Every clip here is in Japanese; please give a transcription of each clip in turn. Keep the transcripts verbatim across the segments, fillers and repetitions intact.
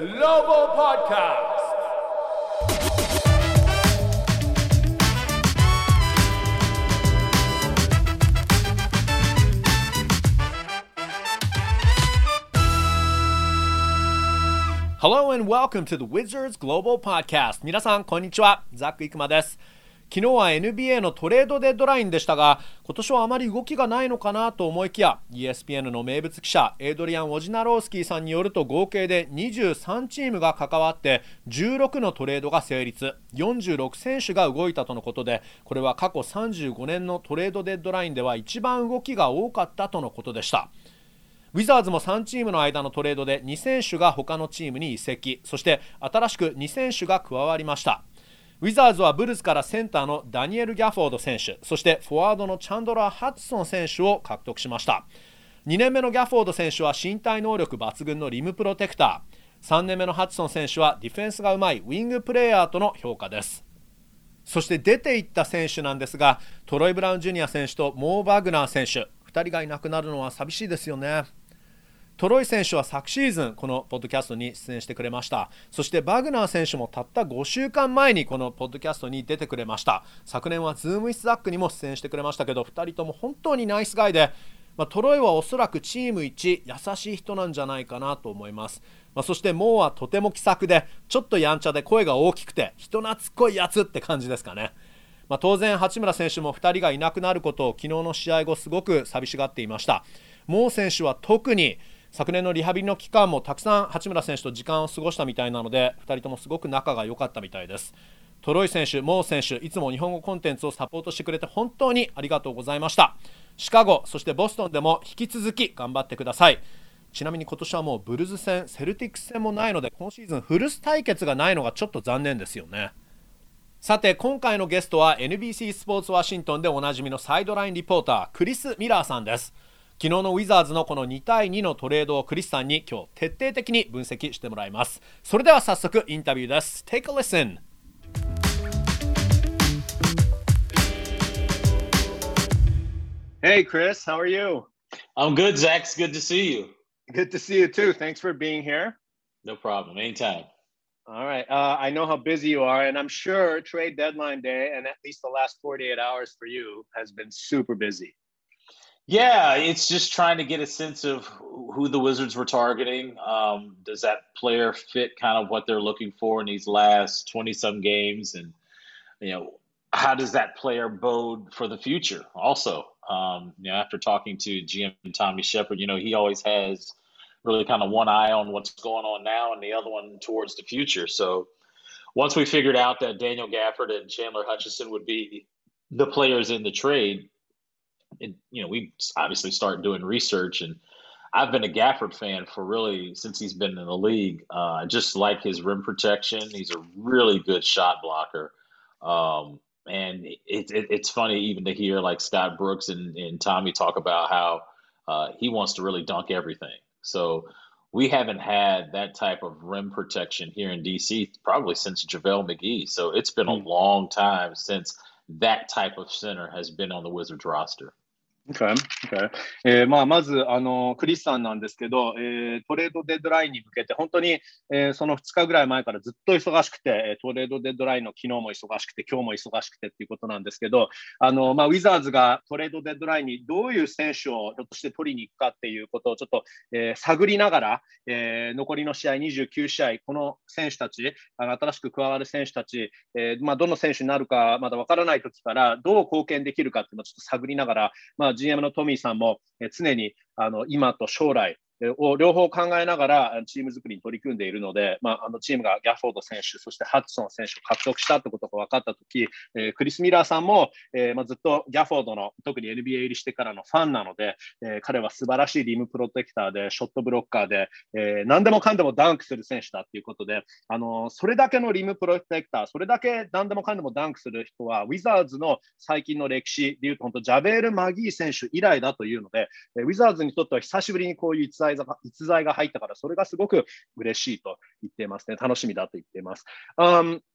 Global Podcast. Hello and welcome to the Wizards Global Podcast. 皆さんこんにちは、ザック・イクマです。昨日は エヌビーエー のトレードデッドラインでしたが、今年はあまり動きがないのかなと思いきや、 イーエスピーエヌ の名物記者エイドリアン・ウォジナロースキーさんによると、合計でにじゅうさんチームが関わってじゅうろくのトレードが成立、よんじゅうろく選手が動いたとのことで、これは過去さんじゅうごねんのトレードデッドラインでは一番動きが多かったとのことでした。ウィザーズもさんチームの間のトレードでに選手が他のチームに移籍、そして新しくに選手が加わりました。ウィザーズはブルズからセンターのダニエル・ギャフォード選手、そしてフォワードのチャンドラー・ハッツソン選手を獲得しました。にねんめのギャフォード選手は身体能力抜群のリムプロテクター、さんねんめのハッツソン選手はディフェンスがうまいウィングプレーヤーとの評価です。そして出ていった選手なんですが、トロイ・ブラウン・ジュニア選手とモー・バグナー選手、ふたりがいなくなるのは寂しいですよね。トロイ選手は昨シーズンこのポッドキャストに出演してくれました。そしてバグナー選手もたったごしゅうかんまえにこのポッドキャストに出てくれました。昨年はズームイスザックにも出演してくれましたけど、ふたりとも本当にナイスガイで、まあ、トロイはおそらくチーム一優しい人なんじゃないかなと思います。まあ、そしてモーはとても気さくで、ちょっとやんちゃで声が大きくて人懐っこいやつって感じですかね。まあ、当然八村選手もふたりがいなくなることを昨日の試合後すごく寂しがっていました。モー選手は特に昨年のリハビリの期間もたくさん八村選手と時間を過ごしたみたいなので、ふたりともすごく仲が良かったみたいです。トロイ選手、モー選手、いつも日本語コンテンツをサポートしてくれて本当にありがとうございました。シカゴ、そしてボストンでも引き続き頑張ってください。ちなみに今年はもうブルズ戦、セルティックス戦もないので、今シーズンフルス対決がないのがちょっと残念ですよね。さて今回のゲストは エヌビーシー スポーツワシントンでおなじみのサイドラインリポーター、クリス・ミラーさんです。昨日のウィザーズのこのにたいにのトレードをクリスさんに今日徹底的に分析してもらいます。それでは早速インタビューです。 Take a listen. Hey Chris, how are you? I'm good, Zach. It's good to see you. Good to see you too. Thanks for being here. No problem. Anytime. All right. Uh, I know how busy you are, and I'm sure trade deadline day and at least the last forty-eight hours for you has been super busy.Yeah, it's just trying to get a sense of who the Wizards were targeting. Um, does that player fit kind of what they're looking for in these last twenty-some games? And, you know, how does that player bode for the future also? Um, you know, after talking to G M Tommy Shepard, you know, he always has really kind of one eye on what's going on now and the other one towards the future. So once we figured out that Daniel Gafford and Chandler Hutchison would be the players in the trade,It, you know, we obviously start doing research, and I've been a Gafford fan for really since he's been in the league. Uh, I just like his rim protection. He's a really good shot blocker. Um, and it, it, it's funny even to hear like Scott Brooks and, and Tommy talk about how uh, he wants to really dunk everything. So we haven't had that type of rim protection here in D C probably since JaVale McGee. So it's been a long time since that type of center has been on the Wizards roster.Okay. Okay. えーまあ、まずあのクリスさんなんですけど、えー、トレードデッドラインに向けて本当に、えー、そのふつかぐらい前からずっと忙しくて、トレードデッドラインの昨日も忙しくて今日も忙しくてっていうことなんですけど、あの、まあ、ウィザーズがトレードデッドラインにどういう選手をひょっとして取りに行くかっていうことをちょっと、えー、探りながら、えー、残りの試合にじゅうきゅう試合、この選手たち、あの新しく加わる選手たち、えーまあ、どの選手になるかまだわからない時からどう貢献できるかっていうのをちょっと探りながら、まあジーエム のトミーさんも常にあの今と将来を両方考えながらチーム作りに取り組んでいるので、まあ、あのチームがギャフォード選手、そしてハッツソン選手を獲得したってことが分かったとき、えー、クリス・ミラーさんも、えーまあ、ずっとギャフォードの特に エヌビーエー 入りしてからのファンなので、えー、彼は素晴らしいリムプロテクターで、ショットブロッカーで、えー、何でもかんでもダンクする選手だっていうことで、あのー、それだけのリムプロテクター、それだけ何でもかんでもダンクする人は、ウィザーズの最近の歴史でいうと、本当ジャベール・マギー選手以来だというので、ウィザーズにとっては久しぶりにこういう逸材が、逸材が入ったから、それがすごく嬉しいと言っていますね。楽しみだと言っています。Um,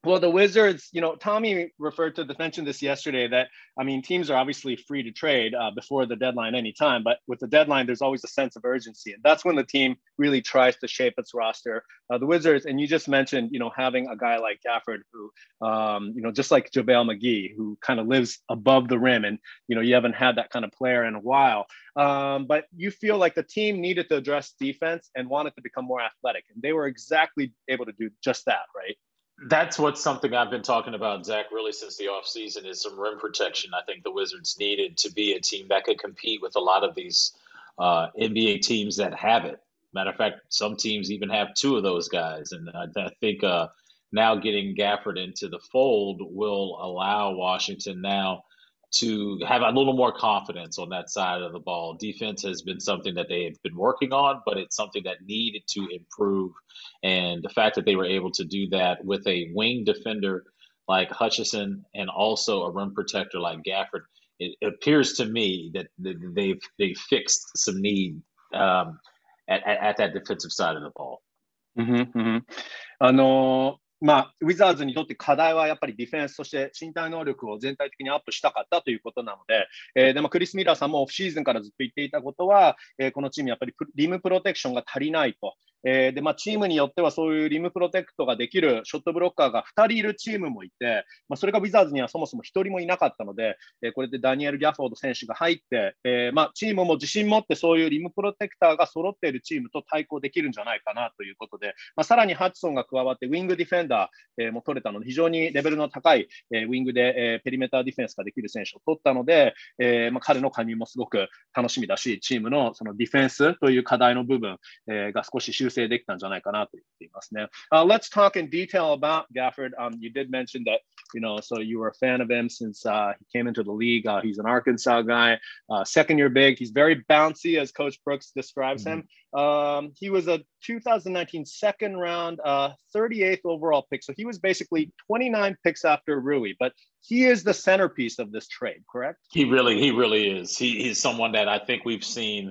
Well, the Wizards, you know, Tommy referred to the mentioned this yesterday that I mean, teams are obviously free to trade uh, before the deadline anytime, but with the deadline, there's always a sense of urgency, and that's when the team really tries to shape its roster. Uh, the Wizards, and you just mentioned, you know, having a guy like Gafford who, um, you know, just like JaVale McGee, who kind of lives above the rim, and you know, you haven't had that kind of player in a while. Um, but you feel like the team needed to address defense and wanted to become more athletic, and they were exactly able to do just that, right? That's what's something I've been talking about, Zach, really since the offseason is some rim protection. I think the Wizards needed to be a team that could compete with a lot of these uh, N B A teams that have it. Matter of fact, some teams even have two of those guys. And I, I think uh, now getting Gafford into the fold will allow Washington now to have a little more confidence on that side of the ball. Defense has been something that they have been working on, but it's something that needed to improve. And the fact that they were able to do that with a wing defender like Hutchison and also a rim protector like Gafford, it, it appears to me that they've they've fixed some need um, at, at, at that defensive side of the ball. Mm-hmm, mm-hmm. あのーまあ、ウィザーズにとって課題はやっぱりディフェンスとして身体能力を全体的にアップしたかったということなので、えー、でもクリス・ミラーさんもオフシーズンからずっと言っていたことは、えー、このチームやっぱりリムプロテクションが足りないと。えーでまあ、チームによってはそういうリムプロテクトができるショットブロッカーがふたりいるチームもいて、まあ、それがウィザーズにはそもそもひとりもいなかったので、えー、これでダニエル・ギャフォード選手が入って、えーまあ、チームも自信持ってそういうリムプロテクターが揃っているチームと対抗できるんじゃないかなということで、まあ、さらにハッチソンが加わってウィングディフェンダー、えー、も取れたので非常にレベルの高い、えー、ウィングで、えー、ペリメーターディフェンスができる選手を取ったので、えーまあ、彼の加入もすごく楽しみだし、チームのそのディフェンスという課題の部分、えー、が少し修正できたんじゃないかなと言っていますね。Uh, let's talk in detail about Gafford. Um, you did mention that, you know, so you were a fan of him since uh, he came into the league. Uh, he's an Arkansas guy, uh, second year big. He's very bouncy, as Coach Brooks describes mm-hmm. him. Um, he was a two thousand nineteen second round, uh, thirty-eighth overall pick. So he was basically twenty-nine picks after Rui, but he is the centerpiece of this trade, correct? He really, he really is. He, he's someone that I think we've seen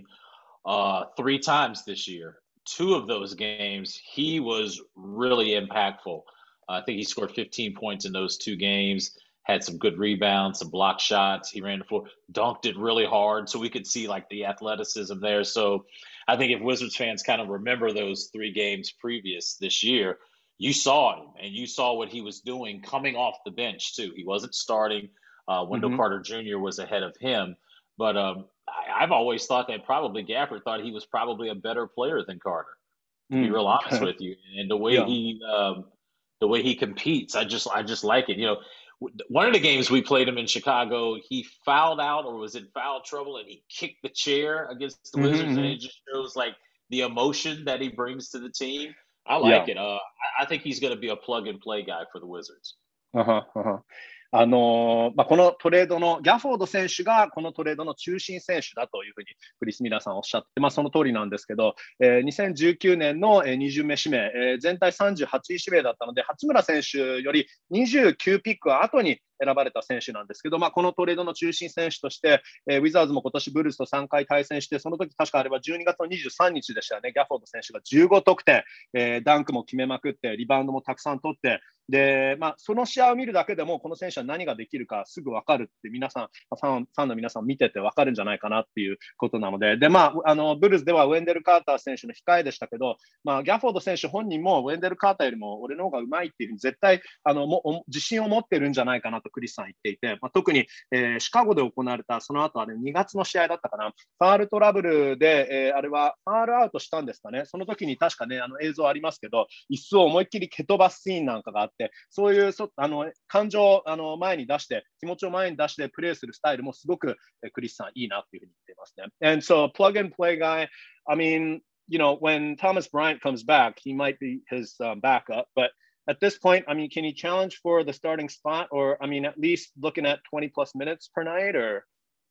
uh, three times this year. Two of those games, he was really impactful. Uh, I think he scored fifteen points in those two games, had some good rebounds, some block shots. He ran the floor, dunked it really hard, so we could see like the athleticism there. So I think if Wizards fans kind of remember those three games previous this year, you saw him and you saw what he was doing coming off the bench too. He wasn't starting. Uh, Wendell mm-hmm. Carter Junior was ahead of him. But um, I, I've always thought that probably Gafford thought he was probably a better player than Carter, to mm. be real honest with you. And the way yeah. he um, the way he competes, I just I just like it. You know, one of the games we played him in Chicago, he fouled out or was in foul trouble, and he kicked the chair against the mm-hmm. Wizards, and it just shows like the emotion that he brings to the team. I like yeah. it. Uh, I, I think he's going to be a plug and play guy for the Wizards. Uh-huh, uh-huh. あのまあ、このトレードのギャフォード選手がこのトレードの中心選手だというふうにクリス・ミラーさんおっしゃって、まあ、その通りなんですけど、えー、にせんじゅうきゅうねんのに巡目指名、えー、全体さんじゅうはちい指名だったので八村選手よりにじゅうきゅうピック後に選ばれた選手なんですけど、まあ、このトレードの中心選手として、えー、ウィザーズも今年ブルースとさんかい対戦して、その時確かあれはじゅうにがつのにじゅうさんにちでしたよね。ギャフォード選手がじゅうご得点、えー、ダンクも決めまくってリバウンドもたくさん取って、で、まあ、その試合を見るだけでもこの選手は何ができるかすぐ分かるって皆さんファン、ファンの皆さん見てて分かるんじゃないかなっていうことなので、で、まあ、あのブルースではウェンデル・カーター選手の控えでしたけど、まあ、ギャフォード選手本人もウェンデル・カーターよりも俺の方がうまいっていうふうに絶対あのも自信を持ってるんじゃないかなとクリスさん言っていて、まあ、特に、えー、シカゴで行われたその後あれにがつの試合だったかな、ファールトラブルで、えー、あれはファールアウトしたんですかね。その時に確かねあの映像ありますけど、椅子を思いっきり蹴飛ばすシーンなんかがあって、そういうそあの感情をあの前に出して気持ちを前に出してプレーするスタイルもすごく、えー、クリスさんいいなっていうふうに言っていますね。And so plug and play guy, I mean, you know, when Thomas Bryant comes back, he might be his um, backup, but at this point, I mean, can he challenge for the starting spot, or I mean, at least looking at twenty plus minutes per night, or?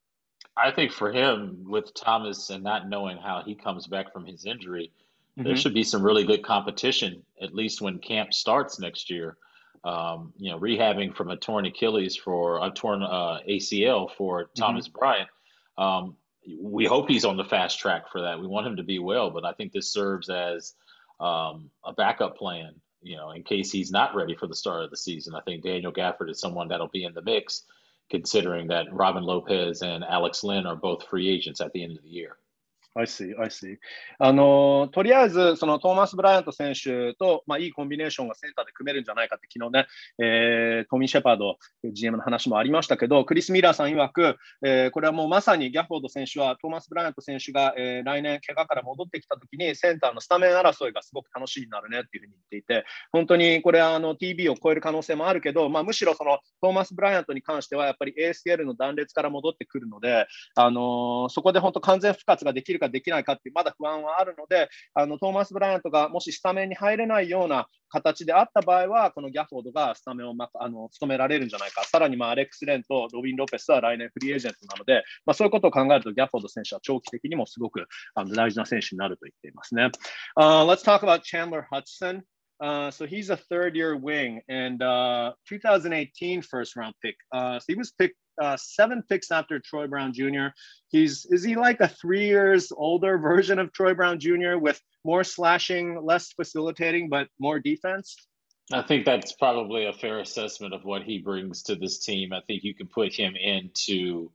I think for him, with Thomas and not knowing how he comes back from his injury, mm-hmm. there should be some really good competition, at least when camp starts next year. Um, you know, rehabbing from a torn Achilles for a torn uh, A C L for Thomas mm-hmm. Bryant. Um, we hope he's on the fast track for that. We want him to be well, but I think this serves as um, a backup plan. you know, in case he's not ready for the start of the season. I think Daniel Gafford is someone that'll be in the mix, considering that Robin Lopez and Alex Lynn are both free agents at the end of the year. I see, I see. あのとりあえずそのトーマス・ブライアント選手と、まあ、いいコンビネーションがセンターで組めるんじゃないかって昨日ね、えー、トミー・シェパード ジーエム の話もありましたけど、クリス・ミラーさん曰く、えー、これはもうまさにギャフォード選手はトーマス・ブライアント選手が、えー、来年怪我から戻ってきたときにセンターのスタメン争いがすごく楽しみになるねっていうふうに言っていて、本当にこれはあの ティービー を超える可能性もあるけど、まあ、むしろそのトーマス・ブライアントに関してはやっぱり エーエスエル の断裂から戻ってくるので、あのー、そこで本当完全復活ができるかできないかっていうまだ不安はあるので、あのトーマス・ブライアントがもしスタメンに入れないような形であった場合は、このギャフォードがスタメンを、ま、あの務められるんじゃないか。さらに、まあ、アレックス・レンとロビン・ロペスは来年フリーエージェントなので、まあ、そういうことを考えるとギャフォード選手は長期的にもすごくあの大事な選手になると言っていますね。Uh, let's talk about Chandler Hudson. Uh, so he's a third-year wing and uh, twenty eighteen first-round pick. Uh, so he was picked uh, seven picks after Troy Brown Junior He's is he like a three years older version of Troy Brown Junior with more slashing, less facilitating, but more defense? I think that's probably a fair assessment of what he brings to this team. I think you can put him into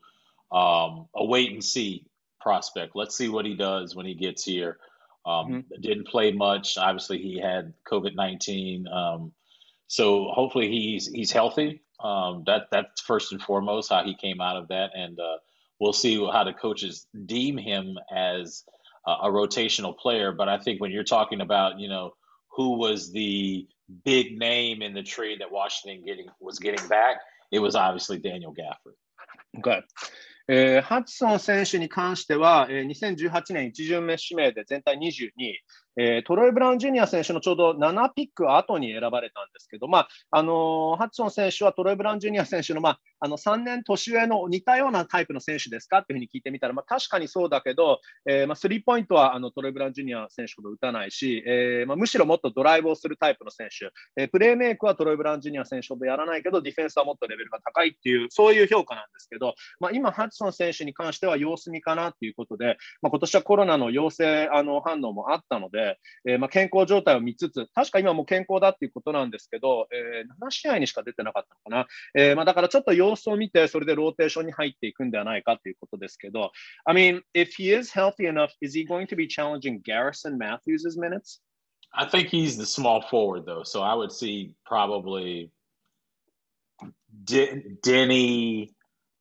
um, a wait and see prospect. Let's see what he does when he gets here. Um, mm-hmm. Didn't play much. Obviously, he had COVID nineteen. Um, so hopefully he's he's healthy. Um, that that's first and foremost how he came out of that, and uh, we'll see how the coaches deem him as a, a rotational player. But I think when you're talking about, you know, who was the big name in the trade that Washington getting was getting back, it was obviously Daniel Gafford. Okay. えー、ハチソン選手に関しては、えー、にせんじゅうはちねん一巡目指名で全体にじゅうにい、えー、トロイ・ブラウン・ジュニア選手のちょうどななピック後に選ばれたんですけど、まああのー、ハチソン選手はトロイ・ブラウン・ジュニア選手の、まあ、あのさんねん年上の似たようなタイプの選手ですかっていうふうに聞いてみたら、まあ、確かにそうだけど、えーまあ、スリーポイントはあのトロイ・ブラウン・ジュニア選手ほど打たないし、えーまあ、むしろもっとドライブをするタイプの選手、えー、プレーメイクはトロイ・ブラウン・ジュニア選手ほどやらないけど、ディフェンスはもっとレベルが高いっていう、そういう評価なんですけど、まあ、今、ハチソン選手に関しては様子見かなということで、まあ、今年はコロナの陽性あの反応もあったので、えーまあ、健康状態を見つつ、確か今も健康だっていうことなんですけど、えー、なな試合にしか出てなかったのかな。えーまあ、だからちょっと様子を見て、それでローテーションに入っていくんではないかということですけど、I mean, if he is healthy enough, is he going to be challenging Garrison Matthews' minutes? I think he's the small forward, though, so I would see probably D- Denny,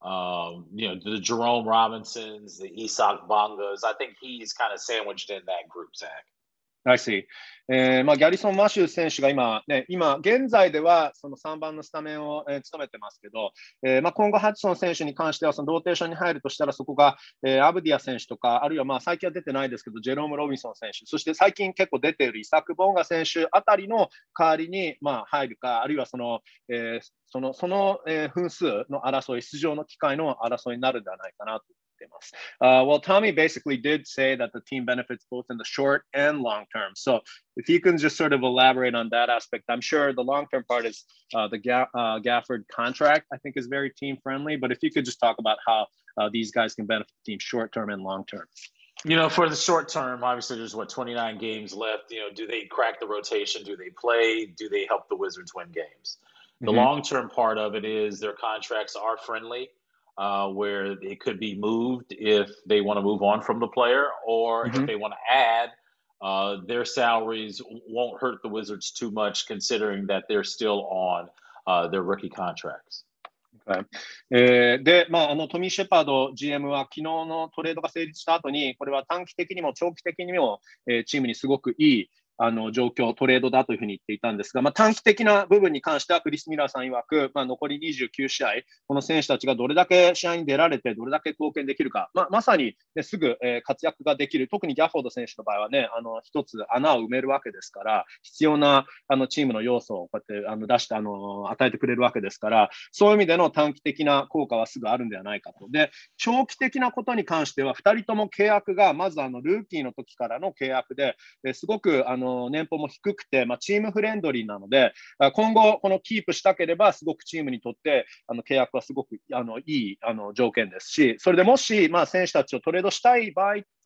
um, you know, the Jerome Robinsons, the Isak Bongas. I think he's kind of sandwiched in that group, Zach. I see. えーまあ、ギャリソン・マシュー選手が今、ね、今現在ではそのさんばんのスタメンを、えー、務めてますけど、えーまあ、今後、ハチソン選手に関してはそのローテーションに入るとしたら、そこが、えー、アブディア選手とか、あるいはまあ最近は出てないですけど、ジェローム・ロビンソン選手、そして最近結構出ているイサク・ボンガ選手あたりの代わりにまあ入るか、あるいはその、えー、その、その、えー、分数の争い、出場の機会の争いになるんではないかなと。Uh, well, Tommy basically did say that the team benefits both in the short and long term. So if you can just sort of elaborate on that aspect, I'm sure the long term part is uh, the Ga- uh, Gafford contract, I think is very team friendly. But if you could just talk about how uh, these guys can benefit the team short term and long term. You know, for the short term, obviously there's what twenty-nine games left. You know, do they crack the rotation? Do they play? Do they help the Wizards win games? The mm-hmm. long term part of it is their contracts are friendly. Uh, where it could be moved if they want to move on from the player, or mm-hmm. if they want to add, uh, their salaries won't hurt the Wizards too much, considering that they're still on uh, their rookie contracts. Okay. えー、で、まあ、あのトミー・シェパード ジーエム は昨日のトレードが成立した後に、これは短期的にも長期的にも、えー、チームにすごくいいあの状況、トレードだというふうに言っていたんですが、まあ、短期的な部分に関してはクリス・ミラーさん曰く、まあ、残りにじゅうきゅう試合、この選手たちがどれだけ試合に出られて、どれだけ貢献できるか、まあ、まさに、ね、すぐ、えー、活躍ができる、特にギャフォード選手の場合はね、あの一つ穴を埋めるわけですから、必要なあのチームの要素をこうやってあの出してあの与えてくれるわけですから、そういう意味での短期的な効果はすぐあるんではないかと。で、長期的なことに関しては、ふたりとも契約が、まずあのルーキーの時からの契約で、すごくあの年俸も低くて、まあ、チームフレンドリーなので、今後このキープしたければすごくチームにとってあの契約はすごくあのいいあの条件ですし、それでもし、まあ、選手たちをトレードしたい場合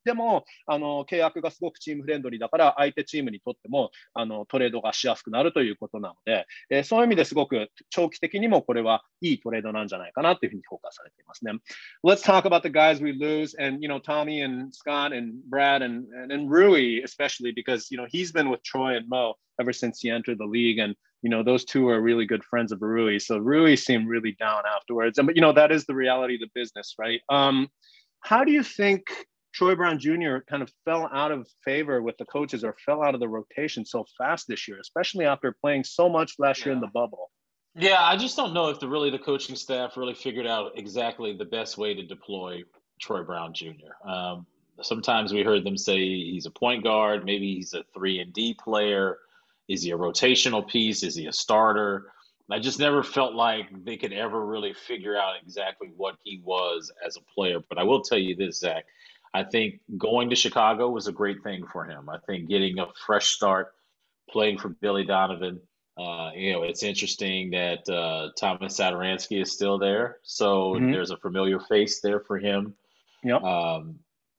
でもあの契約がすごくチームフレンドリーだから相手チームにとってもあのトレードがしやすくなるということなので、えー、そういう意味ですごく長期的にもこれはいいトレードなんじゃないかなというふうに評価されていますね。Let's talk about the guys we lose and you know Tommy and Scott and Brad and and, and Rui especially because you know he's been with Troy and Mo ever since he entered the league and you know those two are really good friends of Rui. So Rui seemed really down afterwards. And but you know that is the reality of the business, right? Um, how do you think Troy Brown Junior kind of fell out of favor with the coaches or fell out of the rotation so fast this year, especially after playing so much last yeah. year in the bubble? Yeah, I just don't know if the really the coaching staff really figured out exactly the best way to deploy Troy Brown Junior Um, sometimes we heard them say he's a point guard, maybe he's a three and D player. Is he a rotational piece? Is he a starter? I just never felt like they could ever really figure out exactly what he was as a player. But I will tell you this, Zach. I think going to Chicago was a great thing for him. I think getting a fresh start, playing for Billy Donovan. Uh, you know, it's interesting that uh, Thomas Satoransky is still there. So mm-hmm. there's a familiar face there for him. Yep. Um,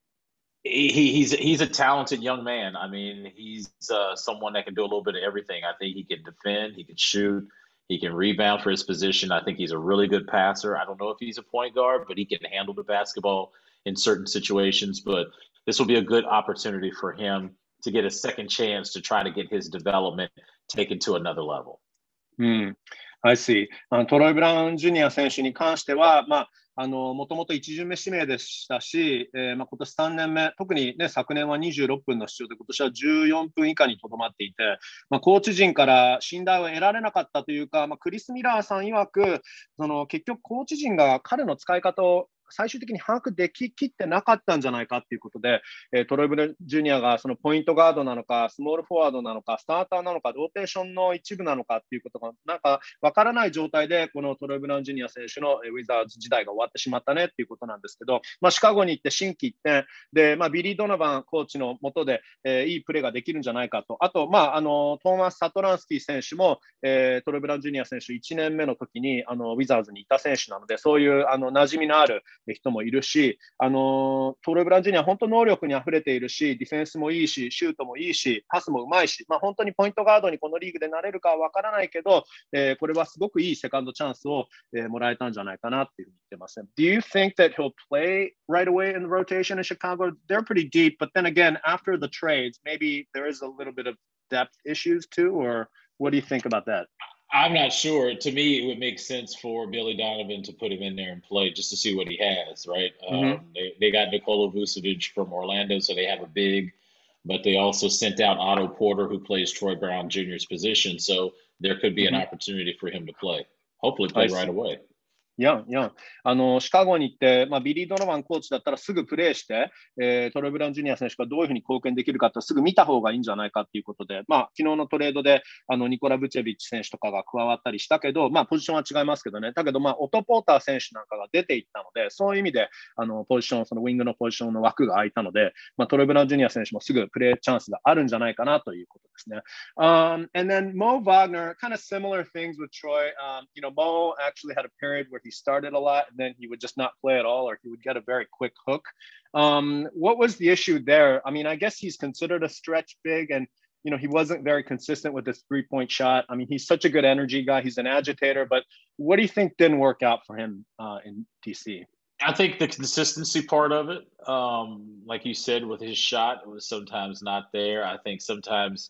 he, he's he's a talented young man. I mean, he's uh, someone that can do a little bit of everything. I think he can defend, he can shoot, he can rebound for his position. I think he's a really good passer. I don't know if he's a point guard, but he can handle the basketball in certain situations. But this will be a good opportunity for him to get a second chance to try to get his development taken to another level. うん、I see. あのトロイ・ブラウン・ジュニア選手に関しては、まあ、あのもともと一巡目指名でしたし、えーまあ、今年さんねんめ、特に、ね、昨年はにじゅうろっぷんの出場で、今年はじゅうよんぷん以下にとどまっていて、まあ、コーチ陣から信頼を得られなかったというか、まあ、クリス・ミラーさん曰く、その結局、コーチ陣が彼の使い方を最終的に把握でききってなかったんじゃないかということで、えー、トロイ・ブラウン・ジュニアがそのポイントガードなのか、スモールフォワードなのか、スターターなのか、ローテーションの一部なのかということがなんか分からない状態で、このトロイ・ブラウン・ジュニア選手のウィザーズ時代が終わってしまったねということなんですけど、まあ、シカゴに行って心機一転で、まあ、ビリー・ドノバンコーチの下で、えー、いいプレーができるんじゃないかと、あと、まあ、あのトーマス・サトランスキー選手も、えー、トロイ・ブラウン・ジュニア選手いちねんめの時にあのウィザーズにいた選手なので、そういうあの馴染みのある人もいるし、あのトロイ・ブラウン・ジュニアは本当能力にあふれているし、ディフェンスもいいし、シュートもいいし、パスもうまいし、まあ、本当にポイントガードにこのリーグでなれるかは分からないけど、えー、これはすごくいいセカンドチャンスを、えー、もらえたんじゃないかなっていうふうに言ってます。Do you think that he'll play right away in the rotation in Chicago? They're pretty deep, but then again, after the trades, maybe there is a little bit of depth issues too, or what do you think about that? I'm not sure. To me, it would make sense for Billy Donovan to put him in there and play just to see what he has, right? Mm-hmm. Um, they, they got Nikola Vucevic from Orlando, so they have a big, but they also sent out Otto Porter, who plays Troy Brown Junior's position, so there could be mm-hmm. an opportunity for him to play. Hopefully play right away. いやいやあのシカゴに行って、まあ、ビリー・ドノバンコーチだったらすぐプレーして、えー、トロイ・ブラウン・ジュニア選手がどういうふうに貢献できるかってすぐ見た方がいいんじゃないかということで、まあ、昨日のトレードであのニコラ・ブチェビッチ選手とかが加わったりしたけど、まあ、ポジションは違いますけどね、だけど、まあ、オト・ポーター選手なんかが出ていったので、そういう意味であのポジション、そのウィングのポジションの枠が空いたので、まあ、トロイ・ブラウン・ジュニア選手もすぐプレーチャンスがあるんじゃないかなということですね。Um, and then Mo Wagner, kind of similar things with Troy. Um, you know, Mo actually had a period where he started a lot. And then he would just not play at all, or he would get a very quick hook. Um, what was the issue there? I mean, I guess he's considered a stretch big, and you know he wasn't very consistent with his three-point shot. I mean, he's such a good energy guy. He's an agitator, but what do you think didn't work out for him uh, in D C? I think the consistency part of it, um, like you said, with his shot, it was sometimes not there. I think sometimes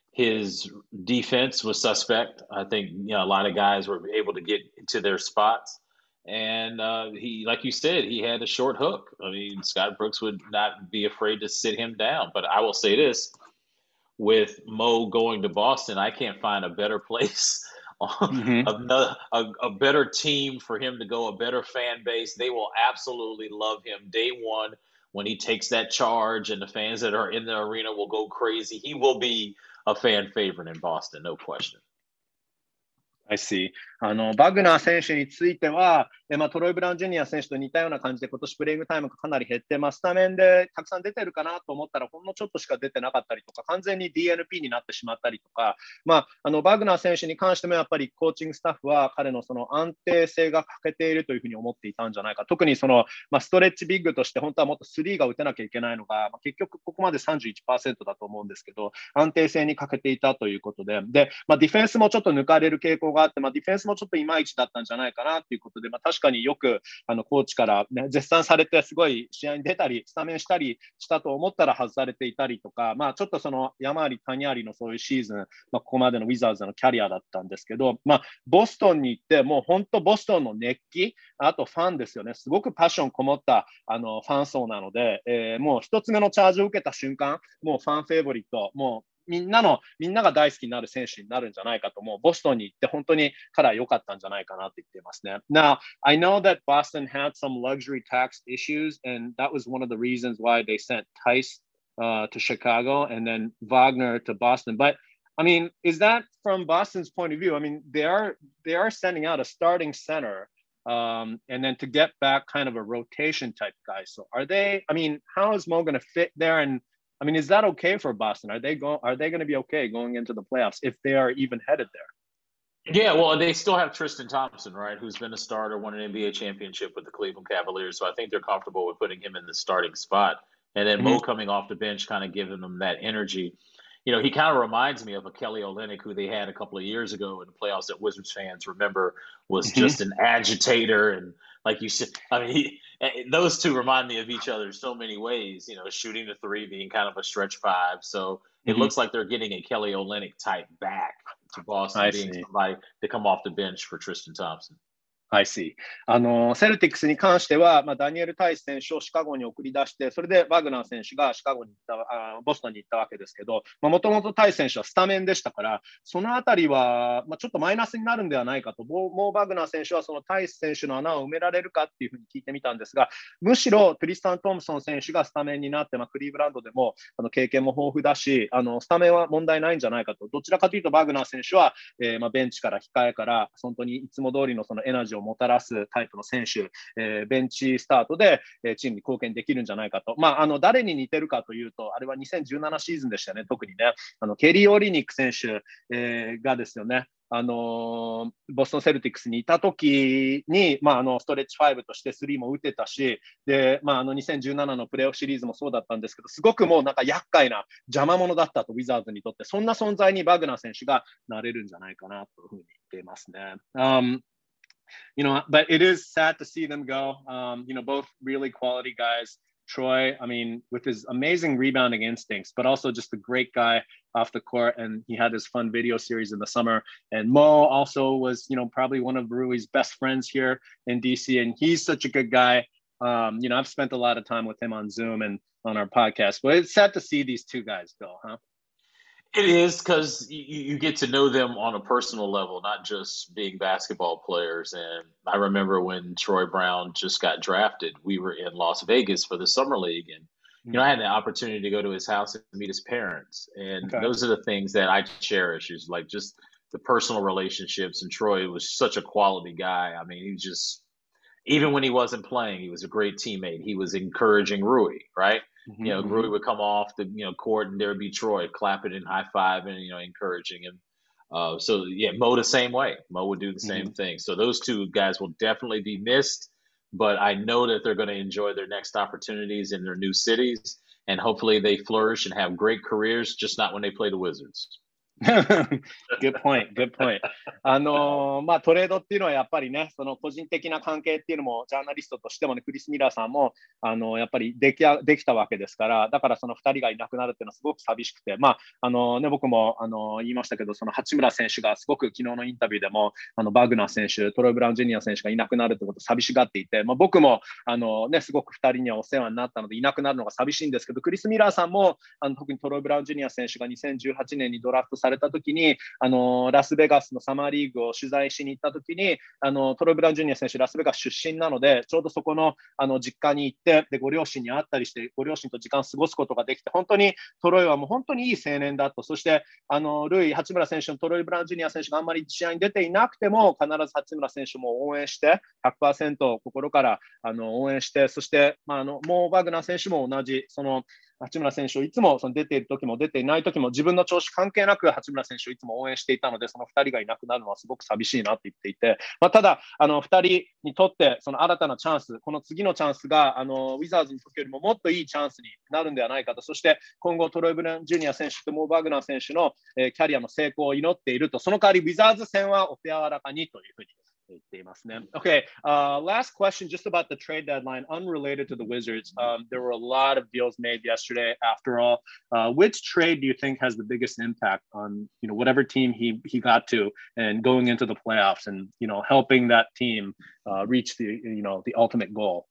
his defense was suspect. I think you know a lot of guys were able to get to their spots. And uh, he, like you said, he had a short hook. I mean, Scott Brooks would not be afraid to sit him down. But I will say this, with Mo going to Boston, I can't find a better place, mm-hmm. another, a, a better team for him to go, a better fan base. They will absolutely love him day one when he takes that charge, and the fans that are in the arena will go crazy. He will be a fan favorite in Boston, no question. I see. あのバグナー選手については、えまあ、トロイ・ブラウン・ジュニア選手と似たような感じで、今年プレイングタイムがかなり減って、まあ、スタメンでたくさん出てるかなと思ったら、ほんのちょっとしか出てなかったりとか、完全に ディーエヌピー になってしまったりとか、まあ、あのバグナー選手に関しても、やっぱりコーチングスタッフは彼のその安定性が欠けているというふうに思っていたんじゃないか。特にその、まあ、ストレッチビッグとして、本当はもっとスリーが打てなきゃいけないのが、まあ、結局ここまで さんじゅういちパーセント だと思うんですけど、安定性に欠けていたということで、で、まあ、ディフェンスもちょっと抜かれる傾向があって、まあ、ディフェンスもちょっといまいちだったんじゃないかなということで、まあ、確かによくあのコーチから、ね、絶賛されて、すごい試合に出たり、スタメンしたりしたと思ったら外されていたりとか、まあ、ちょっとその山あり谷ありのそういうシーズン、まあ、ここまでのウィザーズのキャリアだったんですけど、まあ、ボストンに行って、もう本当、ボストンの熱気、あとファンですよね、すごくパッションこもったあのファン層なので、えー、もう一つ目のチャージを受けた瞬間、もうファンフェイボリット、もうみんなの、みんなが大好きになる選手になるんじゃないかと思う。ボストンに行って本当に彼は良かったんじゃないかなって言っていますね。Now, I know that Boston had some luxury tax issues, and that was one of the reasons why they sent Tice uh, to Chicago and then Wagner to Boston. But I mean, is that from Boston's point of view? I mean, they are they are sending out a starting center, um, and then to get back kind of a rotation type guy. So are they? I mean, how is Mo going to fit there? And I mean, is that okay for Boston? Are they going? Are they going to be okay going into the playoffs if they are even headed there? Yeah, well, they still have Tristan Thompson, right, who's been a starter, won an N B A championship with the Cleveland Cavaliers. So I think they're comfortable with putting him in the starting spot. And then mm-hmm. Mo coming off the bench, kind of giving them that energy. You know, he kind of reminds me of a Kelly Olynyk who they had a couple of years ago in the playoffs that Wizards fans remember was mm-hmm. just an agitator. And like you said, I mean, he, those two remind me of each other in so many ways, you know, shooting the three, being kind of a stretch five. So it mm-hmm. looks like they're getting a Kelly Olynyk type back to Boston, I being see. somebody to come off the bench for Tristan Thompson.I see. あのセルティックスに関しては、まあ、ダニエル・タイス選手をシカゴに送り出して、それでバグナー選手がシカゴに行ったあボストンに行ったわけですけど、もともとタイス選手はスタメンでしたから、そのあたりは、まあ、ちょっとマイナスになるんではないかと、もうバグナー選手はそのタイス選手の穴を埋められるかっていうふうに聞いてみたんですが、むしろトリスタン・トムソン選手がスタメンになって、まあ、クリーブランドでもあの経験も豊富だし、あのスタメンは問題ないんじゃないかと、どちらかというとバグナー選手は、えーまあ、ベンチから控えから、本当にいつも通りのそのエナジーをもたらすタイプの選手、えー、ベンチスタートで、えー、チームに貢献できるんじゃないかと。まあ、あの誰に似てるかというと、あれはにせんじゅうななシーズンでしたね、特にね。あのケリー・オリニック選手、えー、がですよね、あのー、ボストン・セルティックスにいた時に、まあ、あのストレッチファイブとしてスリーも打てたし、で、まあ、あのにせんじゅうななのプレーオフシリーズもそうだったんですけど、すごくもうなんか厄介な邪魔者だったと、ウィザーズにとって、そんな存在にバグナー選手がなれるんじゃないかなというふうに言っていますね。Um, You know, but it is sad to see them go. Um, you know, both really quality guys. Troy, I mean, with his amazing rebounding instincts, but also just a great guy off the court. And he had his fun video series in the summer. And Mo also was, you know, probably one of Rui's best friends here in D C. And he's such a good guy. Um, you know, I've spent a lot of time with him on Zoom and on our podcast. But it's sad to see these two guys go, huh? It is, because you, you get to know them on a personal level, not just being basketball players. And I remember when Troy Brown just got drafted, we were in Las Vegas for the Summer League. And, you know, I had the opportunity to go to his house and meet his parents. And okay. those are the things that I cherish, is like just the personal relationships. And Troy was such a quality guy. I mean, he was just, even when he wasn't playing, he was a great teammate. He was encouraging Rui, right? Mm-hmm. You know, Rui would come off the you know court, and there would be Troy clapping and high fiving, you know, encouraging him. Uh, so yeah, Mo the same way. Mo would do the same mm-hmm. thing. So those two guys will definitely be missed. But I know that they're going to enjoy their next opportunities in their new cities, and hopefully they flourish and have great careers. Just not when they play the Wizards.Good point, good point. あのー、まあトレードっていうのはやっぱりね、その個人的な関係っていうのもジャーナリストとしてもね、クリス・ミラーさんもあのー、やっぱりできあできたわけですから、だからそのふたりがいなくなるっていうのはすごく寂しくて、まああのー、ね僕もあのー、言いましたけど、その八村選手がすごく昨日のインタビューでもあのバグナー選手、トロイ・ブラウン・ジュニア選手がいなくなるってことを寂しがっていて、まあ僕もあのー、ねすごくふたりにはお世話になったのでいなくなるのが寂しいんですけど、クリス・ミラーさんもあの特にトロイ・ブラウン・ジュニア選手がにせんじゅうはちねんにドラフトされされたときに、あの、ラスベガスのサマーリーグを取材しに行ったときに、あの、トロイ・ブラウン・ジュニア選手、ラスベガス出身なので、ちょうどそこの、あの、実家に行って、で、ご両親に会ったりして、ご両親と時間を過ごすことができて、本当にトロイはもう本当にいい青年だと。そして、あの、ルイ、八村選手のトロイ・ブラウン・ジュニア選手があんまり試合に出ていなくても、必ず八村選手も応援して、ひゃくパーセント心からあの応援して、そして、まあ、あのモー・バグナー選手も同じ、その八村選手をいつもその出ている時も出ていない時も自分の調子関係なく八村選手をいつも応援していたので、そのふたりがいなくなるのはすごく寂しいなと言っていて、まあ、ただあのふたりにとってその新たなチャンス、この次のチャンスがあのウィザーズの時よりももっといいチャンスになるんではないかと。そして今後トロイ・ブラウン・ジュニア選手とモー・バグナー選手の、えー、キャリアの成功を祈っていると。その代わりウィザーズ戦はお手柔らかにというふうにOkay, uh, last question just about the trade deadline, unrelated to the Wizards. Um, there were a lot of deals made yesterday. After all, uh, which trade do you think has the biggest impact on, you know, whatever team he he got to and going into the playoffs and, you know, helping that team uh, reach the, you know, the ultimate goal?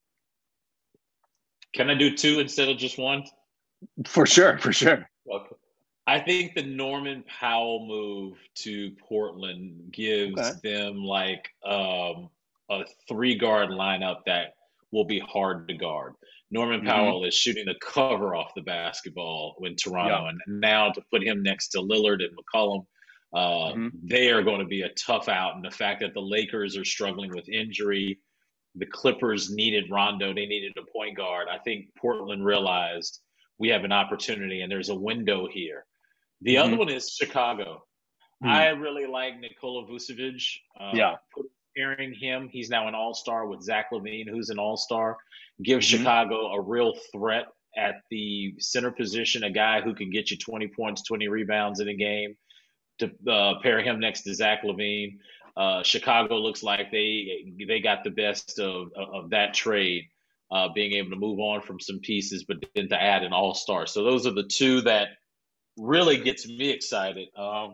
Can I do two instead of just one? For sure, for sure. Okay. I think the Norman Powell move to Portland gives okay. them like um, a three guard lineup that will be hard to guard. Norman mm-hmm. Powell is shooting the cover off the basketball in Toronto, yeah. and now to put him next to Lillard and McCollum, uh, mm-hmm. they are going to be a tough out. And the fact that the Lakers are struggling with injury, the Clippers needed Rondo, they needed a point guard. I think Portland realized we have an opportunity and there's a window here. The mm-hmm. other one is Chicago. Mm-hmm. I really like Nikola Vucevic. Uh, yeah. Pairing him, he's now an all-star with Zach LaVine, who's an all-star. Gives mm-hmm. Chicago a real threat at the center position, a guy who can get you twenty points, twenty rebounds in a game. To uh, pair him next to Zach LaVine. Uh, Chicago looks like they they got the best of, of that trade, uh, being able to move on from some pieces, but then to add an all-star. So those are the two that really gets me excited. Um,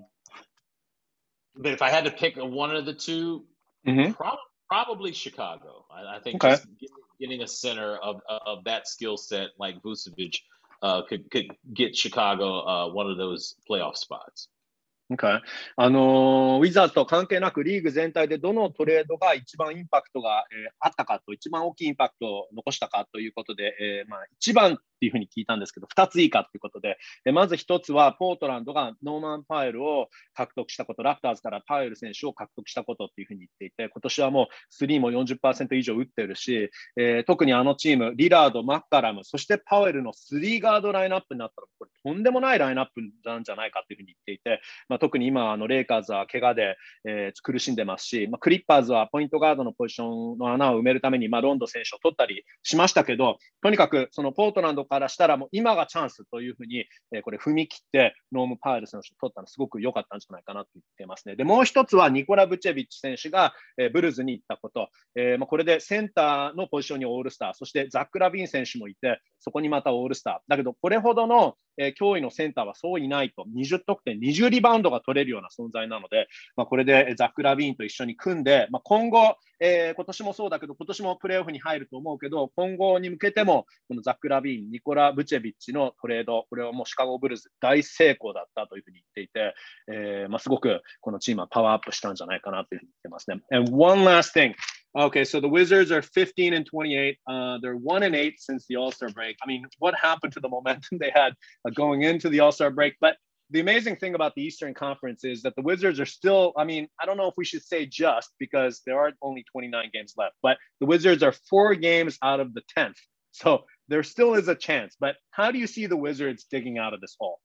but if I had to pick one of the two, mm-hmm. prob- probably Chicago. I, I think okay. just getting, getting a center of of that skill set like Vucevic uh, could could get Chicago uh, one of those playoff spots. Okay. あのー、ウィザーズと関係なくリーグ全体でどのトレードが一番インパクトが、えー、あったかと、一番大きいインパクトを残したかということで、えーまあ、一番っていうふうに聞いたんですけど、二つ以下ということで、えー、まず一つはポートランドがノーマン・パイルを獲得したこと、ラプターズからパイル選手を獲得したことっていうふうに言っていて、今年はもうスリーも よんじゅっパーセント 以上打ってるし、えー、特にあのチーム、リラード、マッカラム、そしてパウエルのスリーガードラインナップになったら、これとんでもないラインナップなんじゃないかというふうに言っていて、まあ、特に今あのレイカーズは怪我で、えー、苦しんでますし、まあ、クリッパーズはポイントガードのポジションの穴を埋めるために、まあ、ロンド選手を取ったりしましたけど、とにかくそのポートランドからしたらもう今がチャンスというふうに、えー、これ踏み切ってノーム・パイル選手を取ったのすごく良かったんじゃないかなと言ってますね。でもう一つはニコラ・ブチェビッチ選手が、えー、ブルズに行ったこと、えーまあ、これでセンターのポジションにオールスター、そしてザック・ラビン選手もいて、そこにまたオールスターだけど、これほどの、えー、脅威のセンターはそういないと、にじゅう得点、にじゅうリバウンドが取れるような存在なので、まあ、これでザック・ラビーンと一緒に組んで、まあ、今後、えー、今年もそうだけど、今年もプレーオフに入ると思うけど、今後に向けても、このザック・ラビーン、ニコラ・ブチェビッチのトレード、これはもうシカゴ・ブルーズ大成功だったというふうに言っていて、えーまあ、すごくこのチームはパワーアップしたんじゃないかなというふうに言ってますね。And one last thing. Okay, so the Wizards are fifteen and twenty-eight. Uh, they're one and eight since the All-Star break. I mean, what happened to the momentum they had uh, going into the All-Star break? But the amazing thing about the Eastern Conference is that the Wizards are still, I mean, I don't know if we should say just because there are only twenty-nine games left, but the Wizards are four games out of the tenth. So there still is a chance. But how do you see the Wizards digging out of this hole?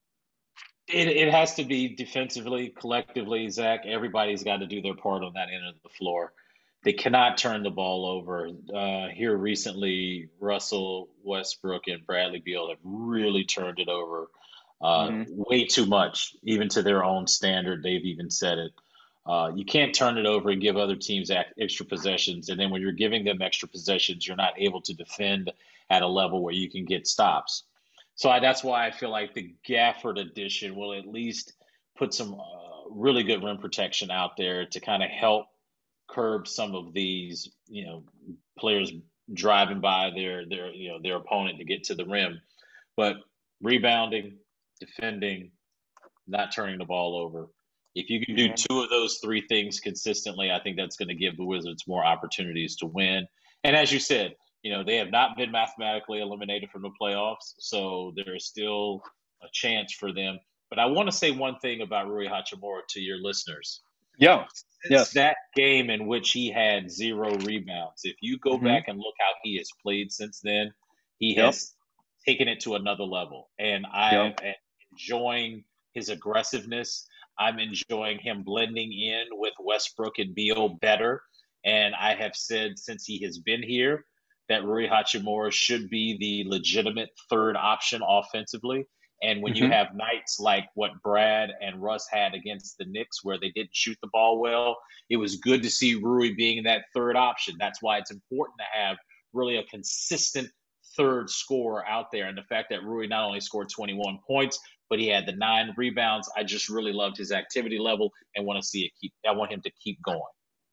It, it has to be defensively, collectively, Zach. Everybody's got to do their part on that end of the floor. They cannot turn the ball over. Uh, here recently, Russell Westbrook and Bradley Beal have really turned it over uh, mm-hmm. way too much, even to their own standard. They've even said it. Uh, you can't turn it over and give other teams extra possessions. And then when you're giving them extra possessions, you're not able to defend at a level where you can get stops. So I, that's why I feel like the Gafford addition will at least put some uh, really good rim protection out there to kind of help curb some of these, you know, players driving by their their you know their opponent to get to the rim. But rebounding, defending, not turning the ball over. If you can do two of those three things consistently, I think that's going to give the Wizards more opportunities to win. And as you said, you know, they have not been mathematically eliminated from the playoffs, so there is still a chance for them. But I want to say one thing about Rui Hachimura to your listeners. Yeah. Since yes. that game in which he had zero rebounds, if you go mm-hmm. back and look how he has played since then, he yep. has taken it to another level. And I yep. am enjoying his aggressiveness. I'm enjoying him blending in with Westbrook and Beal better. And I have said since he has been here that Rui Hachimura should be the legitimate third option offensively. And when mm-hmm. you have nights like what Brad and Russ had against the Knicks where they didn't shoot the ball well, it was good to see Rui being that third option. That's why it's important to have really a consistent third scorer out there. And the fact that Rui not only scored twenty-one points, but he had the nine rebounds. I just really loved his activity level and want to see it keep. I want him to keep going.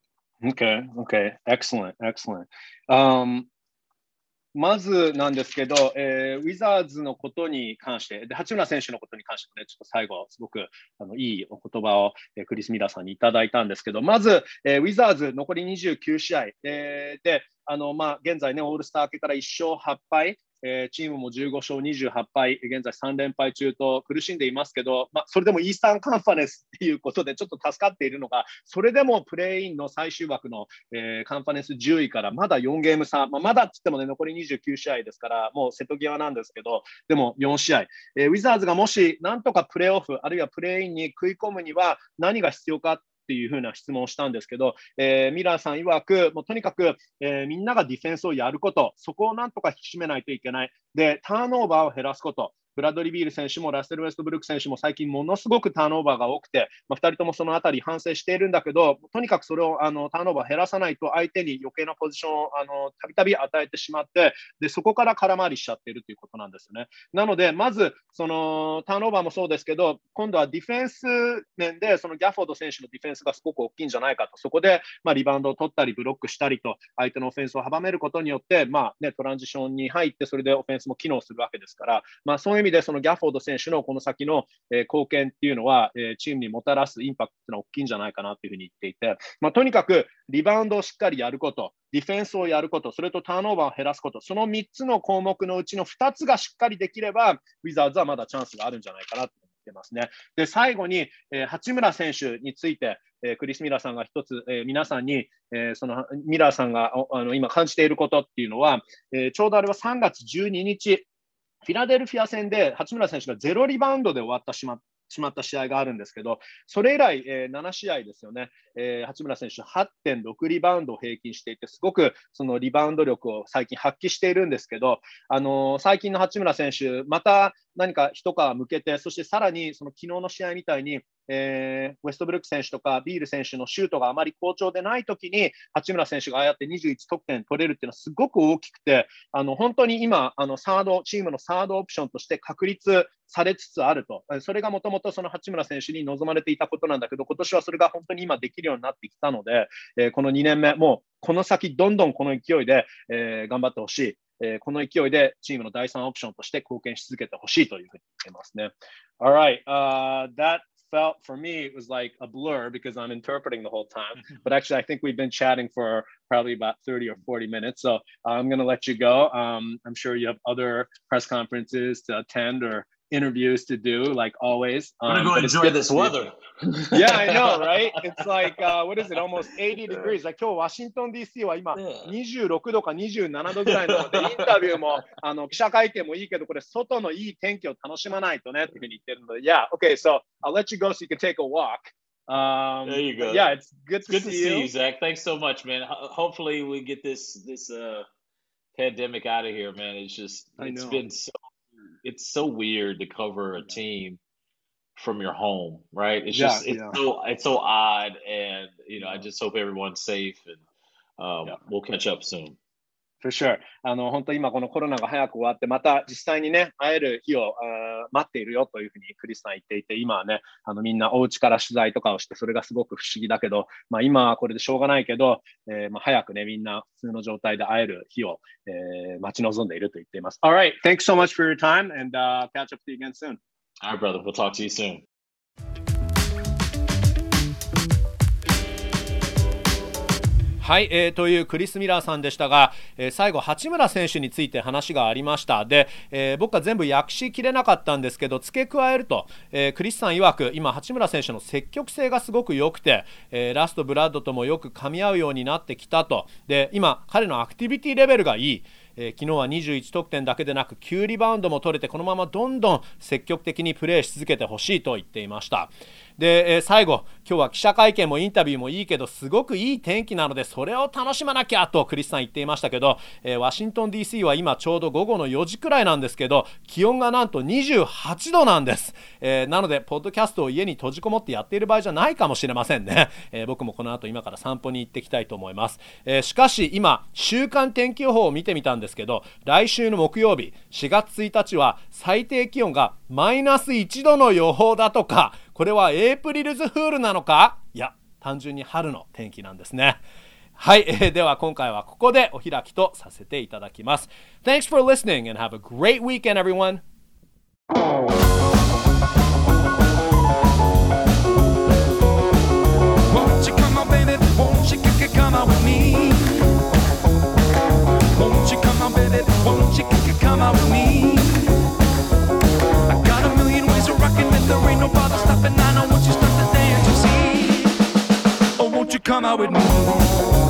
Okay, okay, excellent, excellent. Um, まずなんですけど、えー、ウィザーズのことに関して、で八村選手のことに関してもね、ちょっと最後、すごくあのいいお言葉を、えー、クリス・ミラーさんにいただいたんですけど、まず、えー、ウィザーズ残りにじゅうきゅう試合、えー、で、あのまあ、現在ね、オールスター明けからいっ勝はっ敗、えー、チームもじゅうご勝にじゅうはち敗、現在さん連敗中と苦しんでいますけど、まあ、それでもイースタンカンファレンスっていうことでちょっと助かっているのが、それでもプレーインの最終枠の、えー、カンファレンスじゅういからまだよんゲーム差、まあ、まだって言ってもね、残りにじゅうきゅう試合ですから、もう瀬戸際なんですけど、でもよん試合、えー、ウィザーズがもしなんとかプレーオフ、あるいはプレーインに食い込むには何が必要かっていうふうな質問をしたんですけど、えー、ミラーさん曰く、もうとにかく、えー、みんながディフェンスをやること、そこをなんとか引き締めないといけない。で、ターンオーバーを減らすこと。ブラッドリー・ビール選手もラッセル・ウェストブルック選手も最近ものすごくターンオーバーが多くて、まあ、ふたりともそのあたり反省しているんだけど、とにかくそれをあのターンオーバー減らさないと相手に余計なポジションをあのたびたび与えてしまって、でそこから空回りしちゃっているということなんですよね。なので、まずそのターンオーバーもそうですけど、今度はディフェンス面でそのギャフォード選手のディフェンスがすごく大きいんじゃないかと、そこでまあリバウンドを取ったりブロックしたりと、相手のオフェンスを阻めることによって、まあね、トランジションに入って、それでオフェンスも機能するわけですから、まあ、そういう意味でそのギャフォード選手のこの先の、えー、貢献っていうのは、えー、チームにもたらすインパクトっていうのは大きいんじゃないかなというふうに言っていて、まあ、とにかくリバウンドをしっかりやること、ディフェンスをやること、それとターンオーバーを減らすこと、そのみっつの項目のうちのふたつがしっかりできれば、ウィザーズはまだチャンスがあるんじゃないかなと思ってますね。で、最後に、えー、八村選手について、えー、クリス・ミラーさんが一つ、えー、皆さんに、えー、そのミラーさんがあの今感じていることっていうのは、えー、ちょうどあれはさんがつじゅうににち、フィラデルフィア戦で八村選手がゼロリバウンドで終わったしましまった試合があるんですけど、それ以来、えー、なな試合ですよね、えー、八村選手 はってんろく リバウンドを平均していて、すごくそのリバウンド力を最近発揮しているんですけど、あのー、最近の八村選手、また何か一皮向けて、そしてさらにその昨日の試合みたいに、えー、ウェストブルック選手とかビール選手のシュートがあまり好調でないときに、八村選手がああやってにじゅういち得点取れるっていうのはすごく大きくて、あの本当に今あのサード、チームのサードオプションとして確立されつつあると。それがもともとその八村選手に望まれていたことなんだけど、今年はそれが本当に今できるようになってきたので、えー、このにねんめ、もうこの先どんどんこの勢いで、えー、頑張ってほしい。えー、この勢いでチームの第三オプションとして貢献し続けてほしいというふうに言ってますね。Alright,、uh, that felt for me it was like a blur because I'm interpreting the whole time. But actually, I think we've been chatting for probably about thirty or forty minutes. So I'm going to let you go. Um, I'm sure you have other press conferences to attend or interviews to do, like always. Um, I'm going to go enjoy this weather. Yeah, I know, right? It's like, uh, what is it, almost eighty degrees. Like 今日ワシントン ディーシー は今にじゅうろくどかにじゅうななどぐらいなので、インタビューもあの記者会見もいいけど、これ外のいい天気を楽しまないとねっていうふうに言ってるので、Yeah, okay, so I'll let you go so you can take a walk. Um, there you go. Yeah, it's good to it's good see to you. see you, Zach. Thanks so much, man. Hopefully we get this this uh, pandemic out of here, man. It's just it's been so it's so weird to cover a team from your home, right? It's just yeah, it's yeah. so it's so odd, and you know, I just hope everyone's safe, and um, yeah. we'll catch up soon. For sure. あの本当今このコロナが早く終わってまた実際にね会える日を待っているよというふうにクリスさん言っていて、今はねあのみんなお家から取材とかをしてそれがすごく不思議だけど、まあ今はこれでしょうがないけど、えー、まあ早くねみんな普通の状態で会える日を、えー、待ち望んでいると言っています。All right, thanks so much for your time and、uh, catch up to you again soon. All right, brother. We'll talk to you soon. はい、えー、というクリス・ミラーさんでしたが、えー、最後八村選手について話がありました。で、えー、僕は全部訳しきれなかったんですけど、付け加えると、えー、クリスさん曰く今八村選手の積極性がすごく良くて、えー、ラストブラッドともよく噛み合うようになってきたと。で、今彼のアクティビティレベルがいい。えー、昨日はにじゅういち得点だけでなくきゅうリバウンドも取れて、このままどんどん積極的にプレーし続けてほしいと言っていました。で、えー、最後、今日は記者会見もインタビューもいいけどすごくいい天気なのでそれを楽しまなきゃとクリスさん言っていましたけど、えー、ワシントン ディーシー は今ちょうど午後のよじくらいなんですけど、気温がなんとにじゅうはちどなんです。えー、なのでポッドキャストを家に閉じこもってやっている場合じゃないかもしれませんね。えー、僕もこの後今から散歩に行ってきたいと思います。えー、しかし今週間天気予報を見てみたんですけど、来週の木曜日しがつついたちは最低気温がマイナスいちどの予報だとか、これはエイプリルズフールなのか、いや単純に春の天気なんですね。はい、えー、では今回はここでお開きとさせていただきます。 Thanks for listening and have a great weekend everyone. Won't you come on baby, won't you come out with me? Won't you come on baby, won't you come out with me? I got a million ways of rocking and there ain't no bother stopping. I know once you start to dance you see. Oh won't you come out with me?